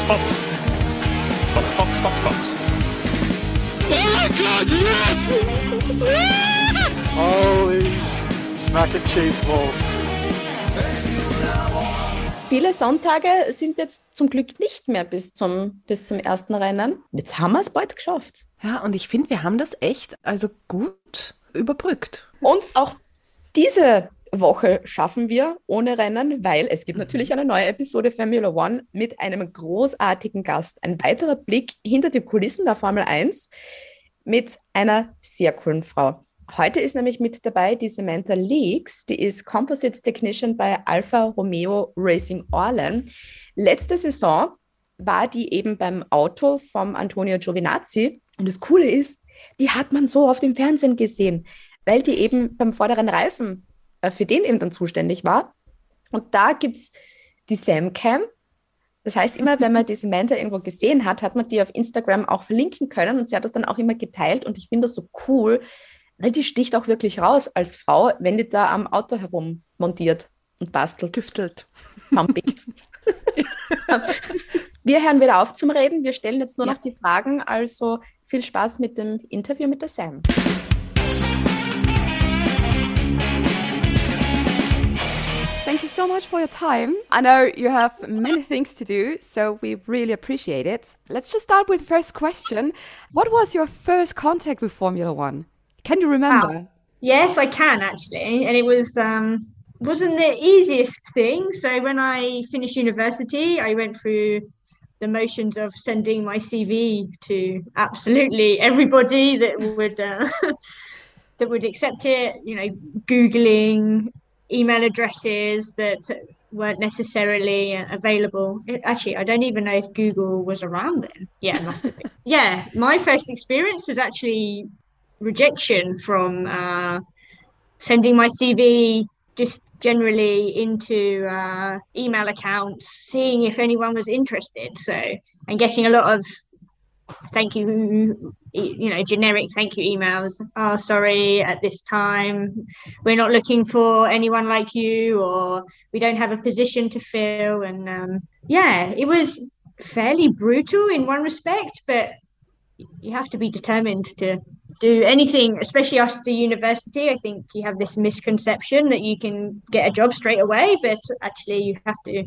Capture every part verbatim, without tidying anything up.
Box. Box, Box, Box, Box. Oh my God, yes! Holy mac and cheese balls. Viele Sonntage sind jetzt zum Glück nicht mehr bis zum, bis zum ersten Rennen. Jetzt haben wir es bald geschafft. Ja, und ich finde, wir haben das echt also gut überbrückt. Und auch diese Woche schaffen wir ohne Rennen, weil es gibt natürlich eine neue Episode Formula One mit einem großartigen Gast. Ein weiterer Blick hinter die Kulissen der Formel eins mit einer sehr coolen Frau. Heute ist nämlich mit dabei die Samantha Leaks, die ist Composites Technician bei Alfa Romeo Racing Orlen. Letzte Saison war die eben beim Auto vom Antonio Giovinazzi. Und das Coole ist, die hat man so auf dem Fernsehen gesehen, weil die eben beim vorderen Reifen äh, für den eben dann zuständig war. Und da gibt es die Samcam. Das heißt, immer wenn man die Samantha irgendwo gesehen hat, hat man die auf Instagram auch verlinken können. Und sie hat das dann auch immer geteilt. Und ich finde das so cool, weil die sticht auch wirklich raus als Frau, wenn die da am Auto herum montiert und bastelt. Tüftelt. Pumpigt. Wir hören wieder auf zum Reden. Wir stellen jetzt nur Ja. noch die Fragen. Also viel Spaß mit dem Interview mit der Sam. Thank you so much for your time. I know you have many things to do, so we really appreciate it. Let's just start with the first question. What was your first contact with Formula One? Can you remember? Yes, I can actually, and it was um wasn't the easiest thing. So when I finished university, I went through the motions of sending my C V to absolutely everybody that would uh, that would accept it. You know, Googling email addresses that weren't necessarily available. It, actually, I don't even know if Google was around then. Yeah, it must have been. Yeah, my first experience was actually rejection from uh, sending my C V just generally into uh, email accounts, seeing if anyone was interested. So, and getting a lot of thank you, you know, generic thank you emails. Oh, sorry, at this time, we're not looking for anyone like you, or we don't have a position to fill. And um, yeah, it was fairly brutal in one respect, but you have to be determined to do anything, especially after university. I think you have this misconception that you can get a job straight away, but actually you have to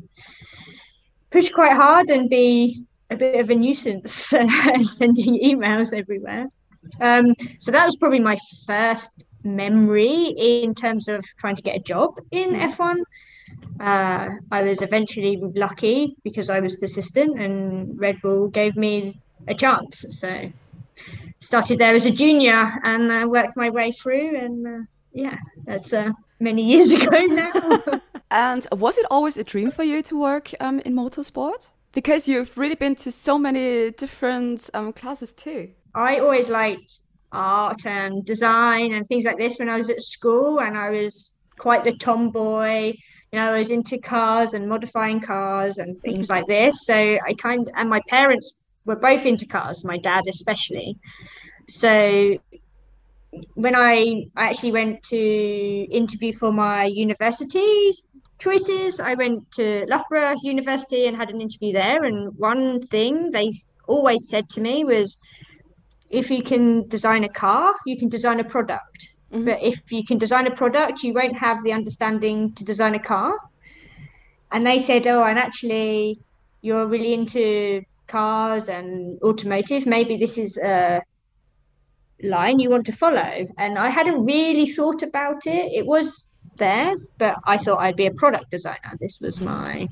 push quite hard and be a bit of a nuisance sending emails everywhere. Um, so that was probably my first memory in terms of trying to get a job in F one. Uh, I was eventually lucky because I was persistent and Red Bull gave me a chance. So started there as a junior and uh, worked my way through, and uh, yeah, that's uh, many years ago now. And was it always a dream for you to work um, in motorsport? Because you've really been to so many different um, classes too. I always liked art and design and things like this when I was at school, and I was quite the tomboy. You know, I was into cars and modifying cars and things like this. So I kind of, and my parents were both into cars, my dad especially. So when I, I actually went to interview for my university choices, I went to Loughborough University and had an interview there. And one thing they always said to me was, if you can design a car, you can design a product. Mm-hmm. But if you can design a product, you won't have the understanding to design a car. And they said, oh, and actually you're really into cars and automotive. Maybe this is a line you want to follow. And I hadn't really thought about it. It was there, but I thought I'd be a product designer. This was my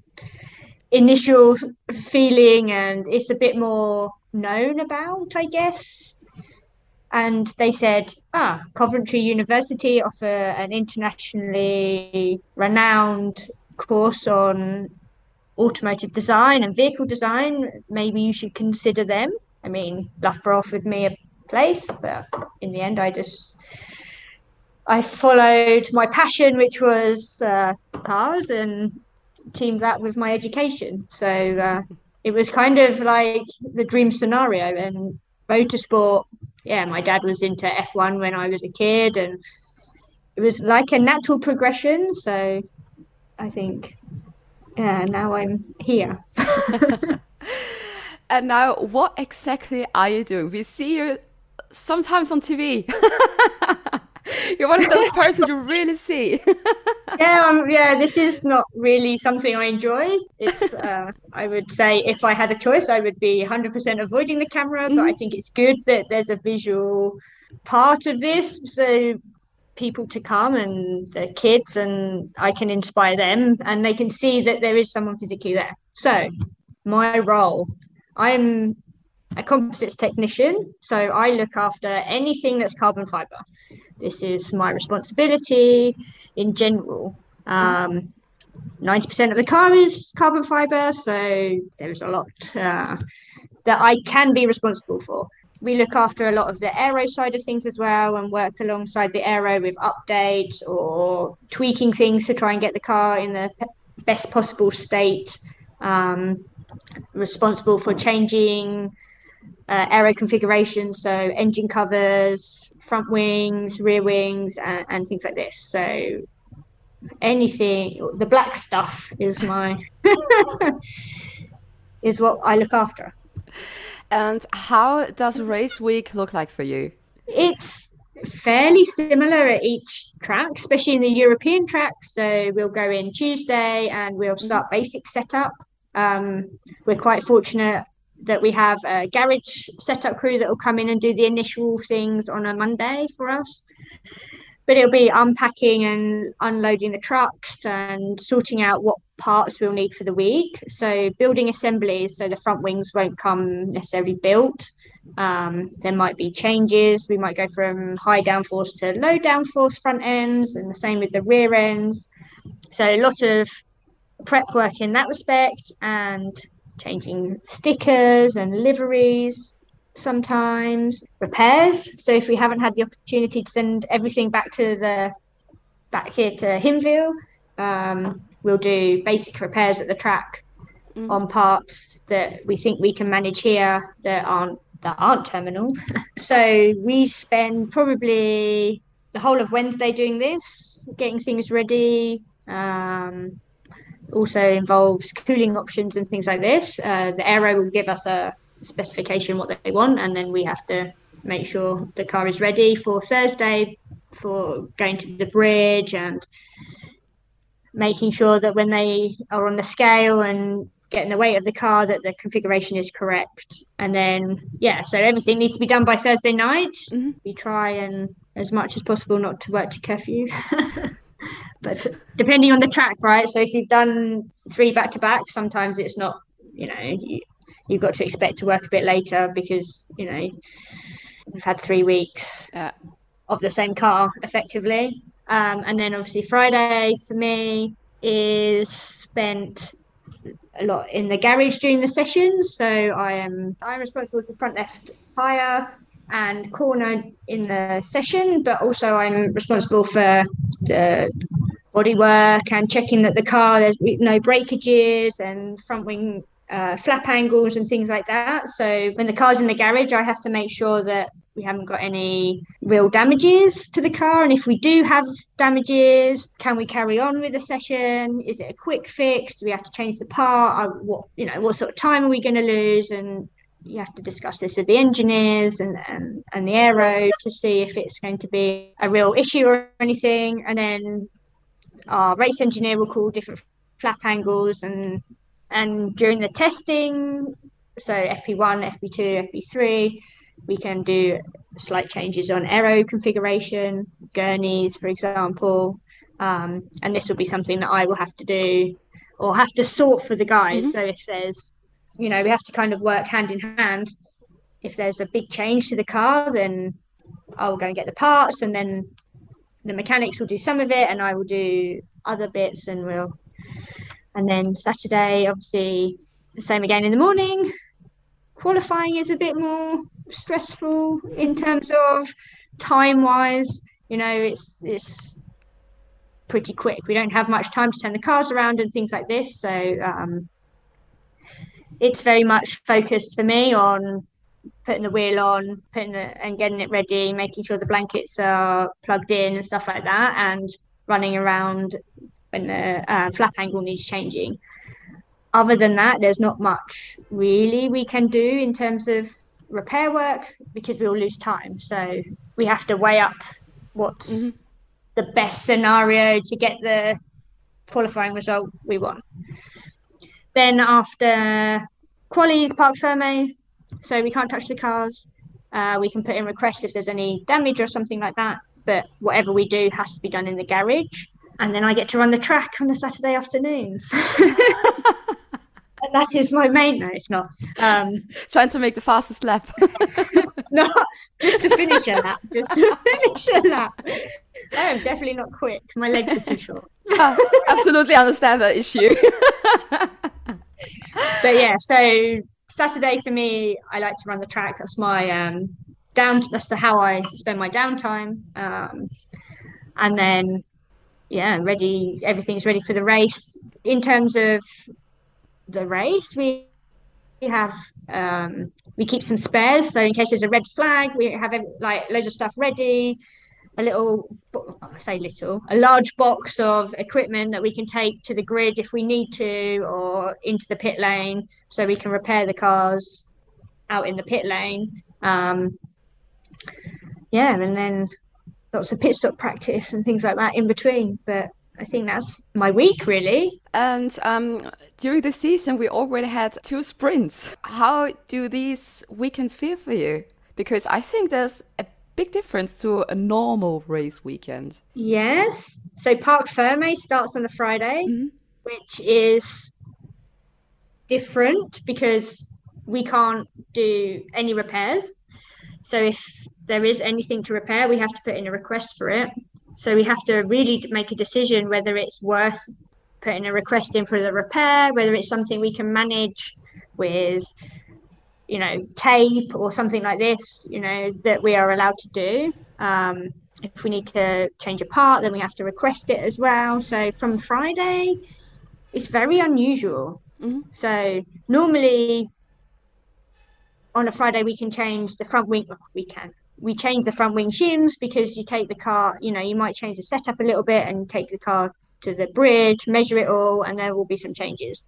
initial feeling, and it's a bit more known about, I guess. And they said, ah, Coventry University offer an internationally renowned course on automotive design and vehicle design. Maybe you should consider them. I mean, Loughborough offered me a place, but in the end, I just I followed my passion, which was uh, cars, and teamed that with my education. So uh, it was kind of like the dream scenario. And motorsport, yeah, my dad was into F one when I was a kid, and it was like a natural progression. So I think, yeah, now I'm here. And now, what exactly are you doing? We see you sometimes on T V. You're one of those persons you really see. Yeah, um, yeah, this is not really something I enjoy. It's, uh, I would say if I had a choice, I would be one hundred percent avoiding the camera, but I think it's good that there's a visual part of this, so people to come and the kids, and I can inspire them and they can see that there is someone physically there. So my role, I'm a composites technician, so I look after anything that's carbon fiber. This is my responsibility in general. Um, ninety percent of the car is carbon fiber, so there's a lot uh, that I can be responsible for. We look after a lot of the aero side of things as well and work alongside the aero with updates or tweaking things to try and get the car in the best possible state. Um, responsible for changing uh, aero configurations, so engine covers, front wings, rear wings, and, and things like this. So anything, the black stuff is my is what I look after. And how does race week look like for you? It's fairly similar at each track, especially in the European track. So we'll go in Tuesday and we'll start basic setup. Um, we're quite fortunate that we have a garage setup crew that will come in and do the initial things on a Monday for us. But it'll be unpacking and unloading the trucks and sorting out what parts we'll need for the week. So building assemblies, so the front wings won't come necessarily built. Um, there might be changes. We might go from high downforce to low downforce front ends, and the same with the rear ends. So a lot of prep work in that respect, and changing stickers and liveries. Sometimes repairs. So if we haven't had the opportunity to send everything back to the back here to Hinwil, um, we'll do basic repairs at the track mm. on parts that we think we can manage here that aren't that aren't terminal. So we spend probably the whole of Wednesday doing this, getting things ready. Um, also involves cooling options and things like this. Uh, the aero will give us a specification what they want, and then we have to make sure the car is ready for Thursday for going to the bridge and making sure that when they are on the scale and getting the weight of the car that the configuration is correct. And then yeah, so everything needs to be done by Thursday night. Mm-hmm. We try and as much as possible not to work to curfew. But depending on the track, right? So if you've done three back to back, sometimes it's not, you know, you, you've got to expect to work a bit later because, you know, we've had three weeks yeah. of the same car effectively. Um, and then obviously Friday for me is spent a lot in the garage during the sessions. So I am I'm responsible for front left tyre and corner in the session, but also I'm responsible for the bodywork and checking that the car, there's no breakages and front wing uh, flap angles and things like that. So when the car's in the garage, I have to make sure that we haven't got any real damages to the car. And if we do have damages, can we carry on with the session? Is it a quick fix? Do we have to change the part? Uh, what, you know, what sort of time are we going to lose? And you have to discuss this with the engineers and, and, and the aero to see if it's going to be a real issue or anything. And then our race engineer will call different flap angles, and and during the testing, so F P one, F P two, F P three, we can do slight changes on aero configuration, gurneys, for example. Um, and this will be something that I will have to do or have to sort for the guys. Mm-hmm. So if there's, you know, we have to kind of work hand in hand. If there's a big change to the car, then I'll go and get the parts, and then the mechanics will do some of it and I will do other bits, and we'll, and then Saturday, obviously the same again in the morning. Qualifying is a bit more stressful in terms of time wise, you know, it's, it's pretty quick. We don't have much time to turn the cars around and things like this. So um, it's very much focused for me on putting the wheel on, putting the, and getting it ready, making sure the blankets are plugged in and stuff like that, and running around when the uh, flap angle needs changing. other than that, there's not much really we can do in terms of repair work because we'll lose time. So we have to weigh up what's mm-hmm. the best scenario to get the qualifying result we want. Then after qualies, parc ferme, so we can't touch the cars. Uh, we can put in requests if there's any damage or something like that, but whatever we do has to be done in the garage. And then I get to run the track on a Saturday afternoon. And that is my main, no, it's not. Um, Trying to make the fastest lap. No, just to finish a lap, just to finish a lap. I am definitely not quick. My legs are too short. Oh, absolutely understand that issue. But yeah, so Saturday for me, I like to run the track. That's my um, down. That's the how I spend my downtime. Um, and then, yeah, ready. Everything's ready for the race. In terms of the race, we we have um, we keep some spares. So in case there's a red flag, we have like loads of stuff ready. A little, I say little, a large box of equipment that we can take to the grid if we need to, or into the pit lane, so we can repair the cars out in the pit lane. Um, yeah, and then lots of pit stop practice and things like that in between. But I think that's my week, really. And um, during the season, we already had two sprints. How do these weekends feel for you? Because I think there's a big difference to a normal race weekend. Yes. So Parc Ferme starts on a Friday, mm-hmm. which is different because we can't do any repairs. So if there is anything to repair, we have to put in a request for it. So we have to really make a decision whether it's worth putting a request in for the repair, whether it's something we can manage with, you know, tape or something like this, you know, that we are allowed to do. Um, if we need to change a part, then we have to request it as well. So from Friday, it's very unusual. Mm-hmm. So normally on a Friday, we can change the front wing. We can. We change the front wing shims because you take the car, you know, you might change the setup a little bit and take the car to the bridge, measure it all, and there will be some changes.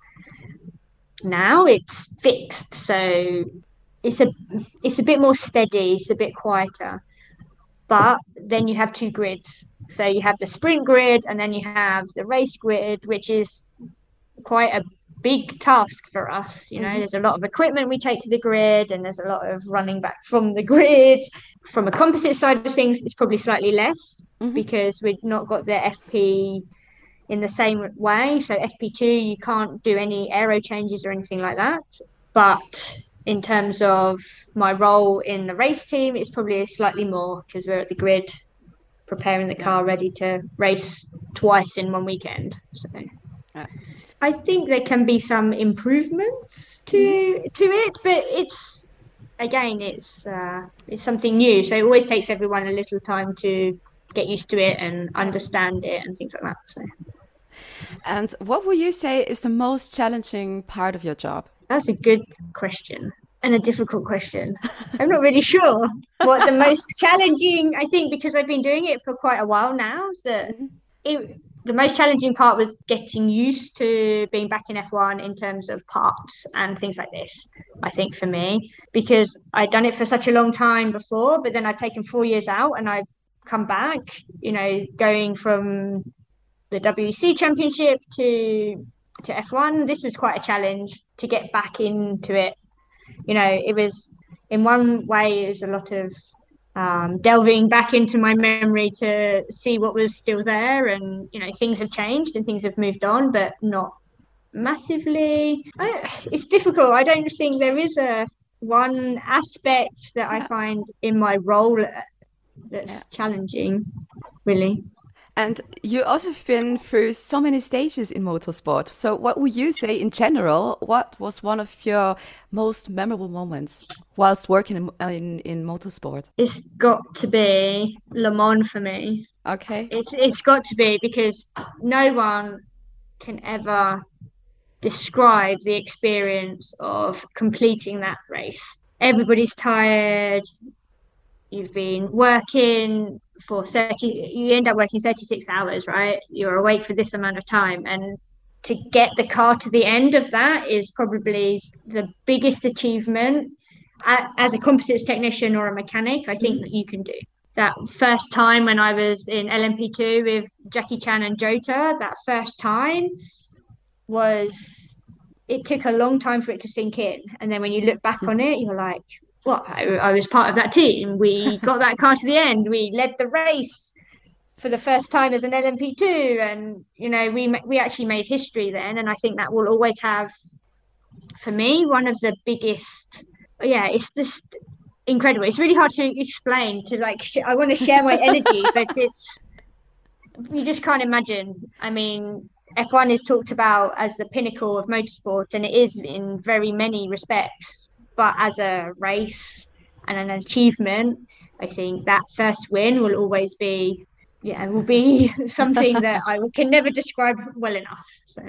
Now it's fixed, so it's a it's a bit more steady, it's a bit quieter. But then you have two grids. So you have the sprint grid and then you have the race grid, which is quite a big task for us. You know, mm-hmm. There's a lot of equipment we take to the grid and there's a lot of running back from the grid. From a composite side of things, it's probably slightly less mm-hmm. because we've not got the F P in the same way. So F P two, you can't do any aero changes or anything like that. But in terms of my role in the race team, it's probably slightly more because we're at the grid preparing the car ready to race twice in one weekend. So yeah. I think there can be some improvements to mm. to it, but it's again, it's uh, it's something new. So it always takes everyone a little time to get used to it and understand it and things like that. So. And what would you say is the most challenging part of your job? That's a good question and a difficult question. I'm not really sure what the most challenging, I think, because I've been doing it for quite a while now, that it, the most challenging part was getting used to being back in F one in terms of parts and things like this, I think, for me, because I'd done it for such a long time before, but then I've taken four years out and I've come back, you know, going from the W E C Championship to to F one. This was quite a challenge to get back into it. You know, it was, in one way, it was a lot of um, delving back into my memory to see what was still there. And, you know, things have changed and things have moved on, but not massively. I, it's difficult. I don't think there is a one aspect that I find in my role that's yeah. challenging, really. And you also have been through so many stages in motorsport. So what would you say in general, what was one of your most memorable moments whilst working in, in, in motorsport? It's got to be Le Mans for me. Okay. It's It's got to be, because no one can ever describe the experience of completing that race. Everybody's tired. You've been working for thirty, you end up working thirty-six hours, right? You're awake for this amount of time. And to get the car to the end of that is probably the biggest achievement as a composites technician or a mechanic, I think, that you can do. That first time when I was in L M P two with Jackie Chan and Jota, that first time was, it took a long time for it to sink in. And then when you look back on it, you're like, well, I, I was part of that team. We got that car to the end. We led the race for the first time as an L M P two. And, you know, we we actually made history then. And I think that will always have, for me, one of the biggest, yeah, it's just incredible. It's really hard to explain, to like, sh- I want to share my energy, but it's, you just can't imagine. I mean, F one is talked about as the pinnacle of motorsport, and it is in very many respects. But as a race and an achievement, I think that first win will always be, yeah, will be something that I can never describe well enough. So,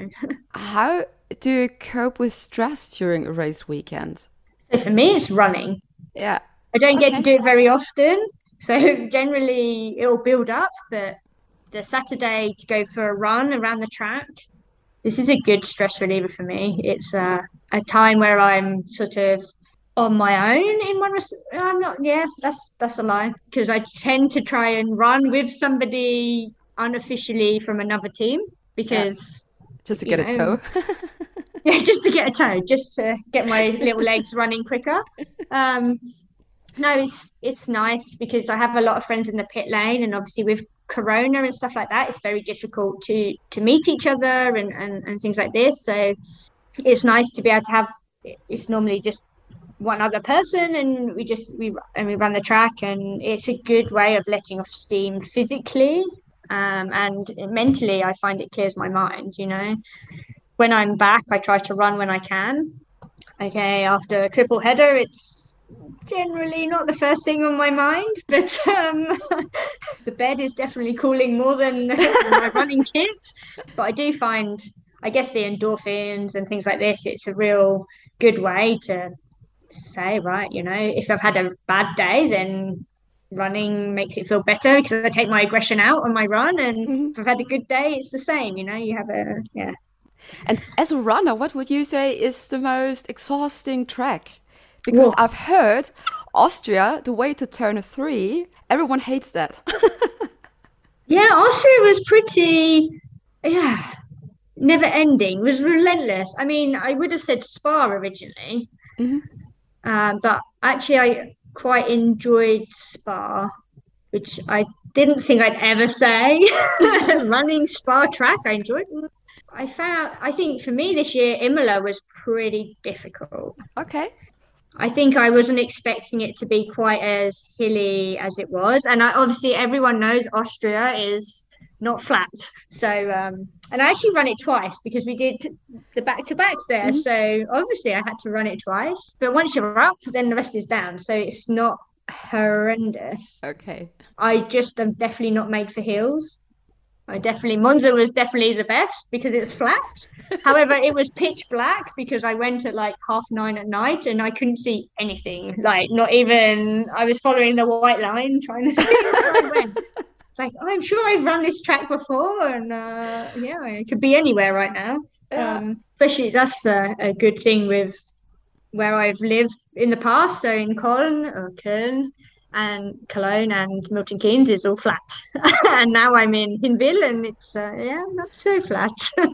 how do you cope with stress during a race weekend? So for me, it's running. Yeah. I don't Okay. get to do it very often. So generally it'll build up, but the Saturday to go for a run around the track, this is a good stress reliever for me. It's uh, a time where I'm sort of on my own in one res- I'm not, yeah, that's, that's a lie. Because I tend to try and run with somebody unofficially from another team because... Yeah. Just to get know, a toe. Yeah, just to get a toe, just to get my little legs running quicker. Um, no, it's it's nice because I have a lot of friends in the pit lane, and obviously with Corona and stuff like that, it's very difficult to to meet each other and, and, and things like this. So it's nice to be able to have, it's normally just one other person, and we just we and we run the track, and it's a good way of letting off steam physically, um, and mentally. I find it clears my mind, you know. When I'm back, I try to run when I can. Okay, after a triple header, it's generally not the first thing on my mind, but um, the bed is definitely cooling more than my running kit. But I do find, I guess, the endorphins and things like this, it's a real good way to say, right, you know, if I've had a bad day, then running makes it feel better because I take my aggression out on my run. And mm-hmm. if I've had a good day, it's the same, you know, you have a, yeah. And as a runner, what would you say is the most exhausting track? Because Whoa. I've heard Austria, the way to turn a three, everyone hates that. Yeah, Austria was pretty, yeah, never ending. It was relentless. I mean, I would have said Spa originally, mm-hmm. um, but actually I quite enjoyed Spa, which I didn't think I'd ever say. Running Spa track, I enjoyed it. I found, I think for me this year, Imola was pretty difficult. Okay. I think I wasn't expecting it to be quite as hilly as it was. And I, obviously everyone knows Austria is not flat. So, um, and I actually ran it twice because we did the back-to-back there. Mm-hmm. So obviously I had to run it twice. But once you're up, then the rest is down. So it's not horrendous. Okay. I just am definitely not made for hills. I definitely, Monza was definitely the best because it's flat. However, it was pitch black because I went at like half nine at night and I couldn't see anything. Like not even, I was following the white line trying to see where I went. It's like, oh, I'm sure I've run this track before and uh, yeah, I could be anywhere right now. Yeah. Um, especially that's a, a good thing with where I've lived in the past. So in Cologne or Köln, and Cologne and Milton Keynes is all flat. And now I'm in Hinwil and it's, uh, yeah, not so flat.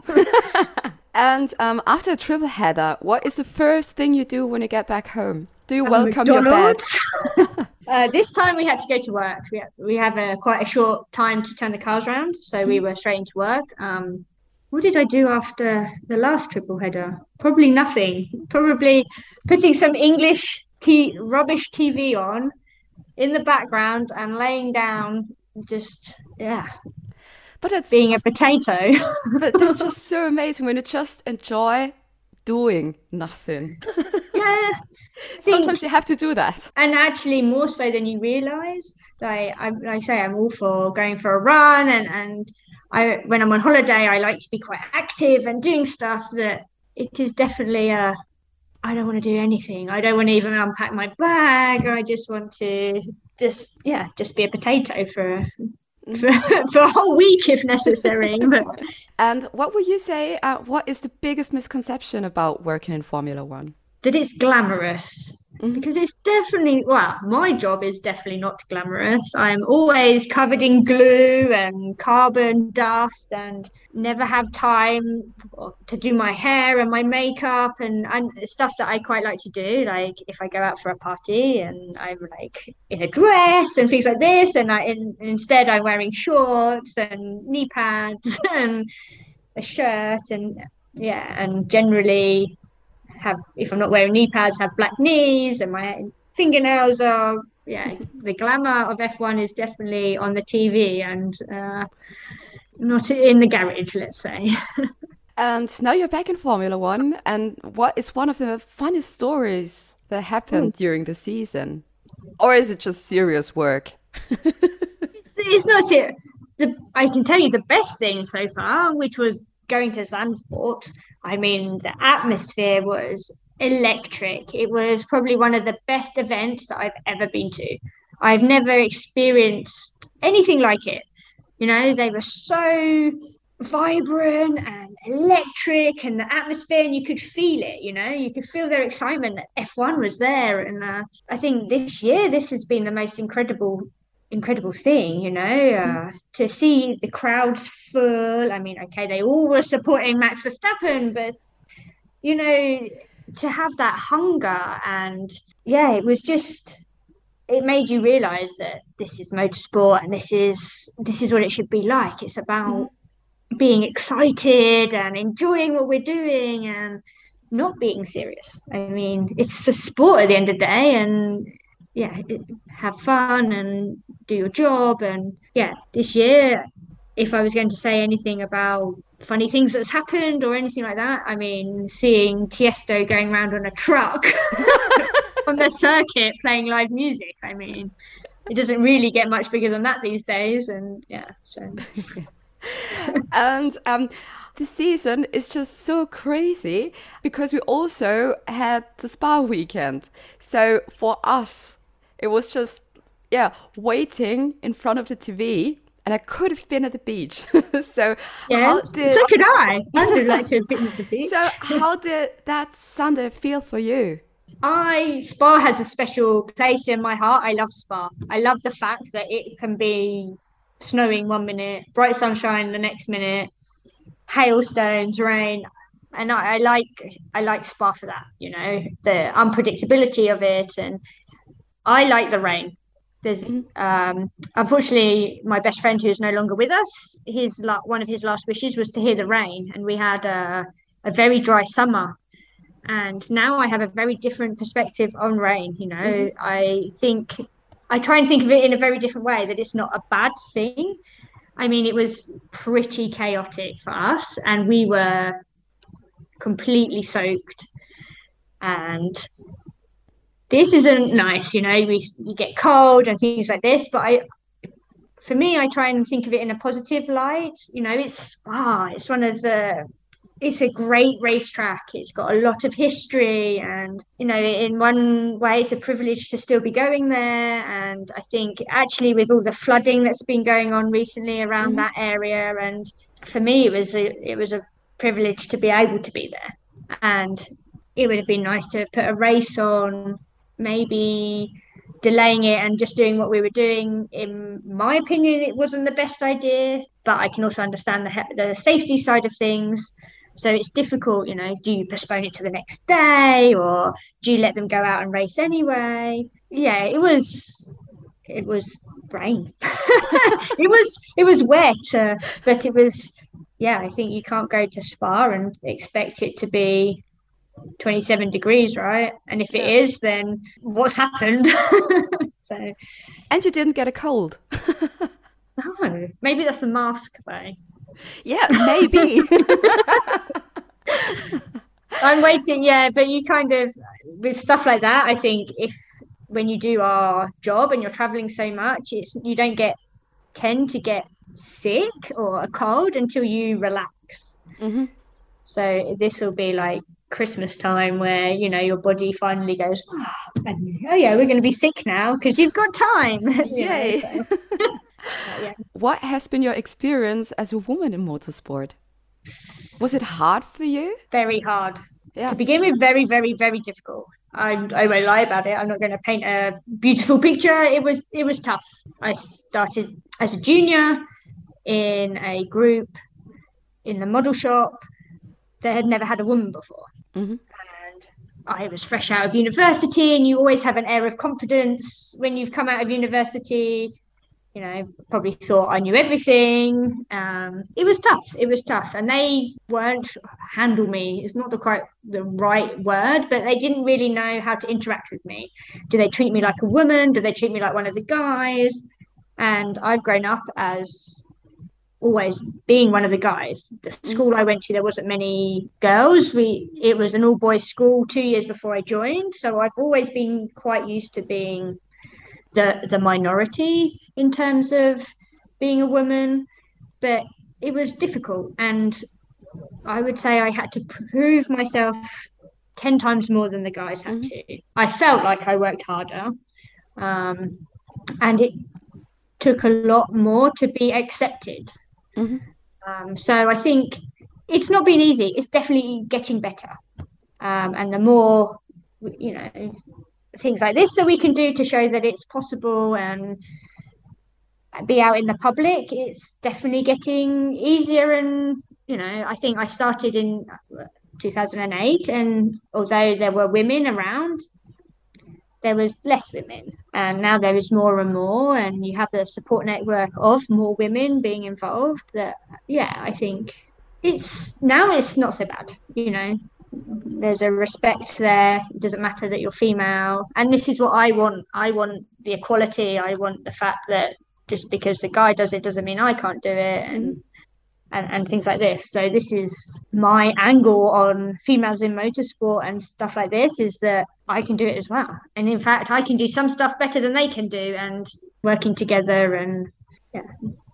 And um, after a triple header, what is the first thing you do when you get back home? Do you um, welcome McDonald's? your bed? uh, this time we had to go to work. We, we have a, quite a short time to turn the cars around. So mm-hmm. we were straight into work. Um, what did I do after the last triple header? Probably nothing. Probably putting some English t- rubbish T V on in the background and laying down, just yeah, but it's being a potato. But that's just so amazing when you just enjoy doing nothing. Yeah, sometimes you have to do that, and actually more so than you realise. Like I, like I say, I'm all for going for a run, and and I when I'm on holiday, I like to be quite active and doing stuff that it is definitely a. I don't want to do anything. I don't want to even unpack my bag. I just want to just, yeah, just be a potato for for, for a whole week if necessary. But And what would you say, uh, what is the biggest misconception about working in Formula One? that it's glamorous. Because it's definitely, well, my job is definitely not glamorous. I'm always covered in glue and carbon dust and never have time to do my hair and my makeup and, and stuff that I quite like to do. Like if I go out for a party and I'm like in a dress and things like this, and I in, instead I'm wearing shorts and knee pads and a shirt and yeah, and generally have, if I'm not wearing knee pads, have black knees and my fingernails are, yeah, the glamour of F one is definitely on the T V and uh, not in the garage, let's say. And now you're back in Formula One, and what is one of the funniest stories that happened mm. during the season? Or is it just serious work? it's, it's not serious. The, I can tell you the best thing so far, which was going to Zandvoort. I mean, the atmosphere was electric. It was probably one of the best events that I've ever been to. I've never experienced anything like it. You know, they were so vibrant and electric, and the atmosphere, and you could feel it, you know, you could feel their excitement that F one was there. And uh, I think this year, this has been the most incredible incredible thing, you know, uh, to see the crowds full. I mean, okay, they all were supporting Max Verstappen, but, you know, to have that hunger and, yeah, it was just, it made you realise that this is motorsport and this is, this is what it should be like. It's about mm-hmm. being excited and enjoying what we're doing and not being serious. I mean, it's a sport at the end of the day, and yeah, have fun and do your job. And yeah, this year, if I was going to say anything about funny things that's happened or anything like that, I mean, seeing Tiesto going around on a truck on the circuit playing live music, I mean, it doesn't really get much bigger than that these days. And yeah, so. And um, the season is just so crazy because we also had the Spa weekend. So for us, it was just, yeah, waiting in front of the T V, and I could have been at the beach. so yes, did... so could I. I would like to have been at the beach. So how did that Sunday feel for you? I Spa has a special place in my heart. I love Spa. I love the fact that it can be snowing one minute, bright sunshine the next minute, hailstones, rain. And I, I like I like Spa for that, you know, the unpredictability of it. And I like the rain. There's um, unfortunately my best friend who is no longer with us, his one of his last wishes was to hear the rain, and we had a, a very dry summer. And now I have a very different perspective on rain. You know, mm-hmm. I think I try and think of it in a very different way, that it's not a bad thing. I mean, it was pretty chaotic for us, and we were completely soaked. And this isn't nice, you know, we you get cold and things like this. But I, for me, I try and think of it in a positive light. You know, it's ah, it's one of the, it's a great racetrack. It's got a lot of history, and you know, in one way, it's a privilege to still be going there. And I think actually, with all the flooding that's been going on recently around mm-hmm. that area, and for me, it was a it was a privilege to be able to be there. And it would have been nice to have put a race on, maybe delaying it and just doing what we were doing. In my opinion, it wasn't the best idea, but I can also understand the the safety side of things. So it's difficult, you know, do you postpone it to the next day, or do you let them go out and race anyway? Yeah, it was, it was rain. it was, it was wet, uh, but it was, yeah, I think you can't go to Spa and expect it to be twenty-seven degrees, right? And if it is, then what's happened? So, and you didn't get a cold. No, maybe that's the mask though. Yeah, maybe. I'm waiting, yeah, but you kind of, with stuff like that, I think if when you do our job and you're traveling so much, it's you don't get tend to get sick or a cold until you relax. Mm-hmm. So this will be like Christmas time where, you know, your body finally goes, oh, oh yeah, we're going to be sick now because you've got time. Yay. Know, so. yeah. What has been your experience as a woman in motorsport? Was it hard for you? Very hard. Yeah. To begin with, very, very, very difficult. I, I won't lie about it. I'm not going to paint a beautiful picture. It was it was tough. I started as a junior in a group in the model shop that had never had a woman before. Mm-hmm. And I was fresh out of university, and you always have an air of confidence when you've come out of university. You know, probably thought I knew everything. Um, it was tough. It was tough. And they weren't handle me. It's not the quite the right word, but they didn't really know how to interact with me. Do they treat me like a woman? Do they treat me like one of the guys? And I've grown up as always being one of the guys. The school I went to, there wasn't many girls. We it was an all-boys school two years before I joined. So I've always been quite used to being the the minority in terms of being a woman, but it was difficult, and I would say I had to prove myself ten times more than the guys had mm-hmm. to. I felt like I worked harder, um, and it took a lot more to be accepted. Mm-hmm. Um, so I think it's not been easy. It's definitely getting better, um, and the more, you know, things like this that we can do to show that it's possible and be out in the public, it's definitely getting easier. And you know, I think I started in two thousand eight, and although there were women around, there was less women, and now there is more and more, and you have the support network of more women being involved. That yeah, I think it's now it's not so bad, you know. There's a respect there. It doesn't matter that you're female, and this is what I want. I want the equality. I want the fact that just because the guy does it doesn't mean I can't do it, and and, and things like this. So this is my angle on females in motorsport and stuff like this, is that I can do it as well, and in fact I can do some stuff better than they can do, and working together. And yeah.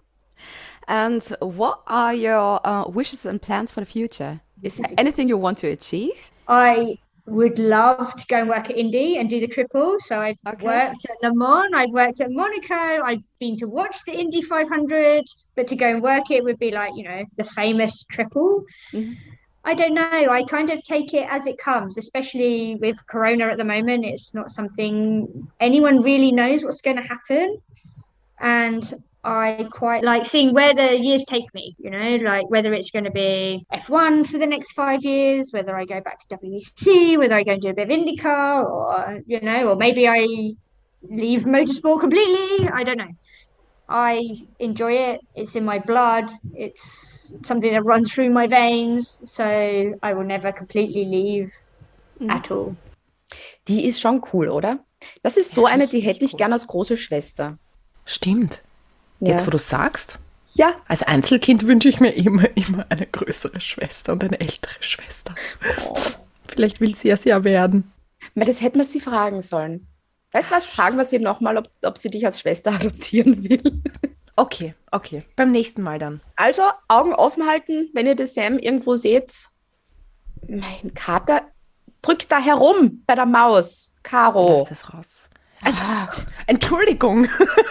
And what are your uh, wishes and plans for the future? Is there anything you want to achieve? I would love to go and work at Indy and do the triple. So I've okay. worked at Le Mans, I've worked at Monaco, I've been to watch the Indy five hundred, but to go and work it would be like, you know, the famous triple. Mm-hmm. I don't know. I kind of take it as it comes, especially with Corona at the moment. It's not something anyone really knows what's going to happen. And I quite like seeing where the years take me, you know, like whether it's going to be F one for the next five years, whether I go back to W E C, whether I go and do a bit of IndyCar, or, you know, or maybe I leave motorsport completely. I don't know. I enjoy it. It's in my blood. It's something that runs through my veins. So I will never completely leave mm. at all. Die ist schon cool, oder? Das ist so eine, die hätte ich gern als große Schwester. Stimmt. Ja. Jetzt, wo du sagst, ja. Als Einzelkind wünsche ich mir immer, immer eine größere Schwester und eine ältere Schwester. Oh. Vielleicht will sie es ja werden. Das hätten wir sie fragen sollen. Weißt du was, fragen wir sie nochmal, ob, ob sie dich als Schwester adoptieren will. Okay, okay. Beim nächsten Mal dann. Also, Augen offen halten, wenn ihr den Sam irgendwo seht. Mein Kater drückt da herum bei der Maus. Caro. Lass das raus. Also, Entschuldigung.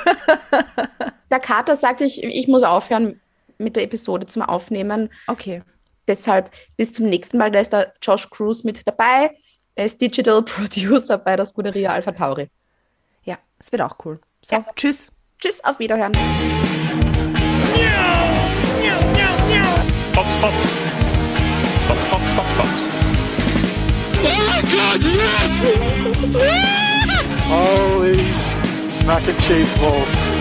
Der Kater sagt, ich, ich muss aufhören mit der Episode zum Aufnehmen. Okay. Deshalb bis zum nächsten Mal. Da ist der Josh Cruz mit dabei. Er ist Digital Producer bei der Scuderia Alpha Tauri. Ja, es wird auch cool. So, ja. Tschüss. Tschüss, auf Wiederhören. Fox, Fox. Fox, Fox, Fox, Fox. Oh my God, yes! Holy mac and cheese balls.